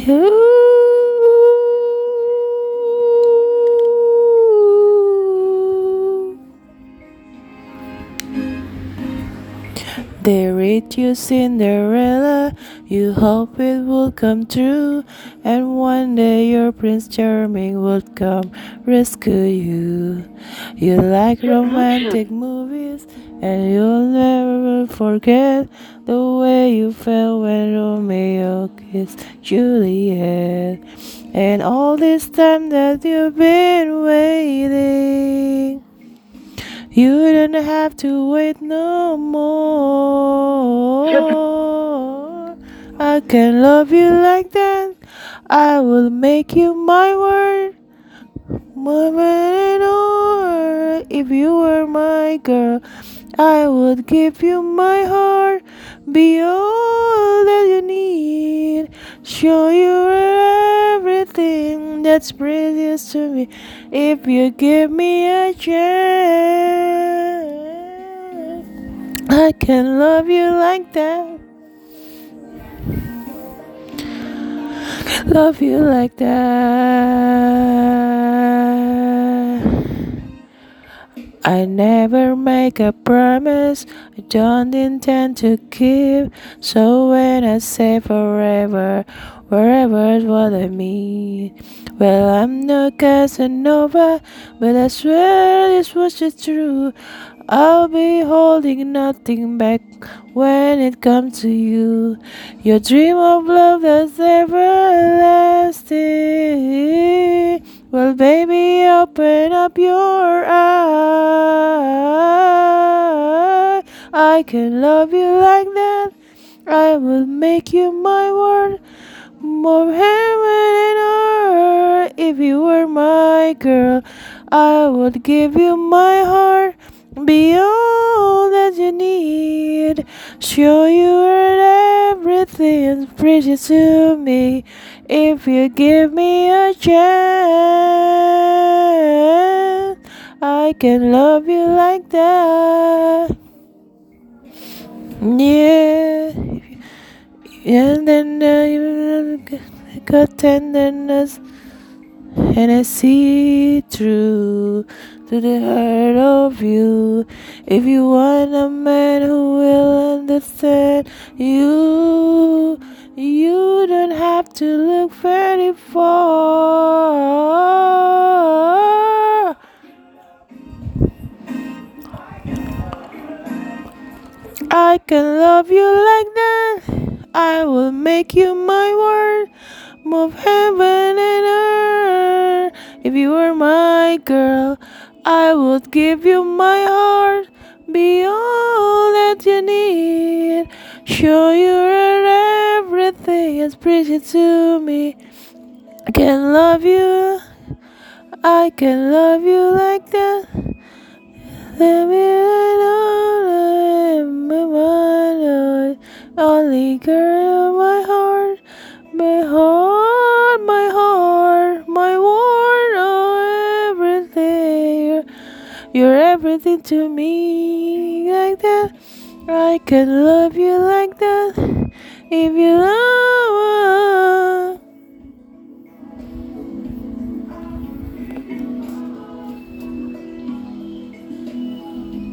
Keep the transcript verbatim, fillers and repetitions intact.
They read you Cinderella, you hope it will come true, and one day your Prince Charming will come rescue you. You like romantic movies, and you'll never forget the way you felt when Romeo kissed Juliet. And all this time that you've been waiting, you don't have to wait no more. I can love you like that. I will make you my word. More than or if you were my girl, I would give you my heart. Be all that you need. Show you everything that's precious to me. If you give me a chance, I can love you like that. Love you like that. I never make a promise I don't intend to keep. So when I say forever, wherever is what I mean. Well, I'm no Casanova, but I swear this was just true. I'll be holding nothing back when it comes to you. Your dream of love that's everlasting. Well, baby, open up your eye. I can love you like that. I will make you my world. More heaven and earth. If you were my girl, I would give you my heart. Be all that you need. Show you everything is precious to me. If you give me a chance, I can love you like that. Yeah. And then uh, you got tenderness, and I see through to the heart of you. If you want a man who will understand you, you don't have to look very far. I can love you like that. I will make you my word. Move heaven and earth. If you were my girl, I would give you my heart. Be all that you need. Show you everything is precious to me. I can love you. I can love you like that. Let me know, my only girl, my heart, my heart, my heart, my world, oh everything. You're, you're everything to me, like that. I can love you like that. If you love.